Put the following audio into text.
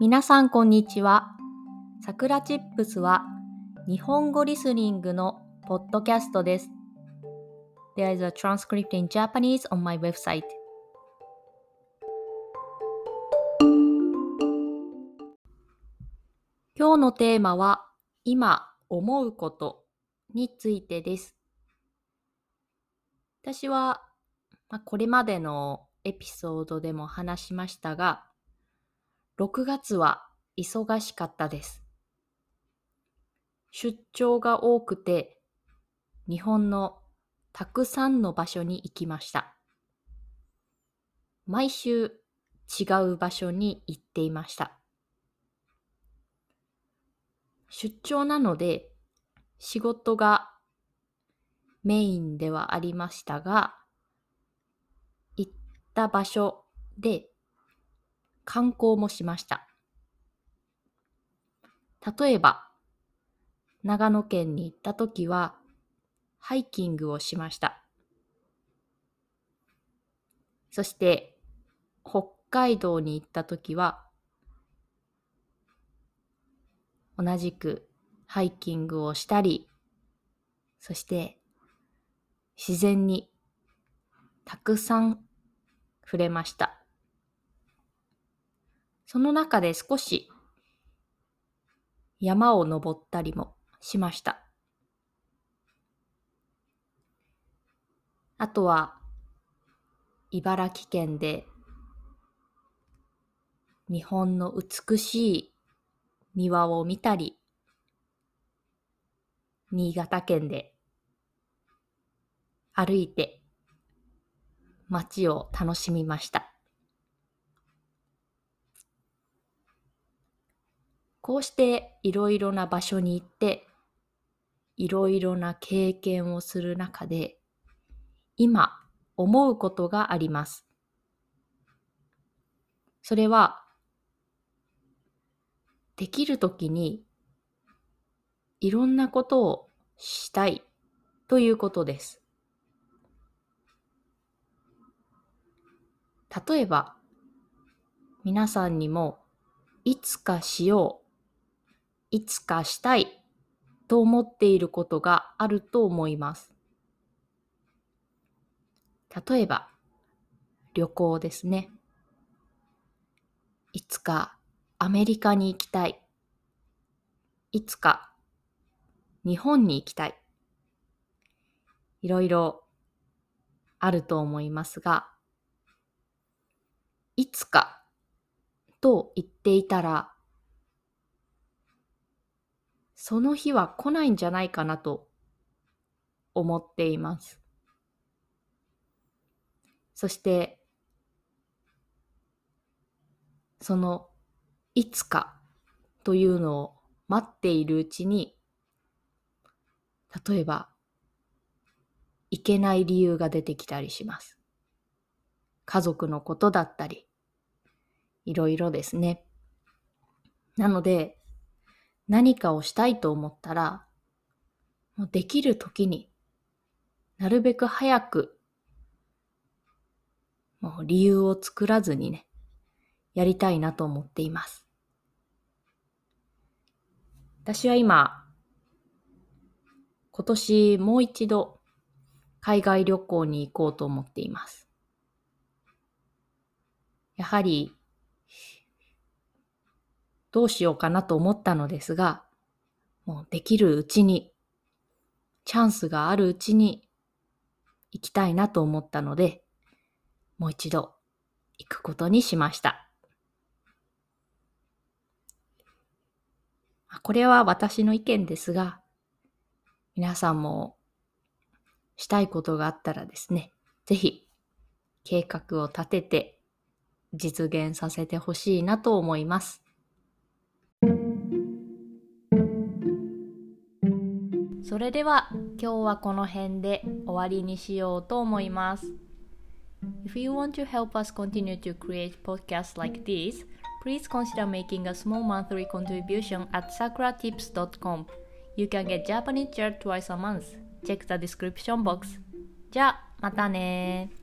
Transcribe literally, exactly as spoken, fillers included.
皆さんこんにちは。さくらチップスは日本語リスニングのポッドキャストです。There is a transcript in Japanese on my website. 今日のテーマは今思うことについてです。私は、まあ、これまでのエピソードでも話しましたが、ろくがつは忙しかったです。出張が多くて、日本のたくさんの場所に行きました。毎週違う場所に行っていました。出張なので仕事がメインではありましたが、行った場所で観光もしました。例えば、長野県に行ったときはハイキングをしました。そして北海道に行ったときは同じくハイキングをしたり、そして自然にたくさん触れました。その中で少し山を登ったりもしました。あとは茨城県で日本の美しい庭を見たり、新潟県で歩いて街を楽しみました。こうしていろいろな場所に行っていろいろな経験をする中で今思うことがあります。それはできるときにいろんなことをしたいということです。例えば皆さんにもいつかしよう、いつかしたいと思っていることがあると思います。例えば旅行ですね。いつかアメリカに行きたい。いつか日本に行きたい。いろいろあると思いますが、いつかと言っていたら、その日は来ないんじゃないかなと思っています。そして、そのいつかというのを待っているうちに、例えば、行けない理由が出てきたりします。家族のことだったり、いろいろですね。なので、何かをしたいと思ったら、もうできるときになるべく早く、もう理由を作らずにね、やりたいなと思っています。私は今、今年もう一度海外旅行に行こうと思っています。やはり、どうしようかなと思ったのですが、もうできるうちに、チャンスがあるうちに行きたいなと思ったので、もう一度行くことにしました。これは私の意見ですが、皆さんもしたいことがあったらですね、ぜひ計画を立てて実現させてほしいなと思います。それでは今日はこの辺で終わりにしようと思います。If you want to help us continue to create podcasts like this, please consider making a small monthly contribution at sakura tips dot com. You can get Japanese chair twice a month. Check the description box. じゃあ、またね。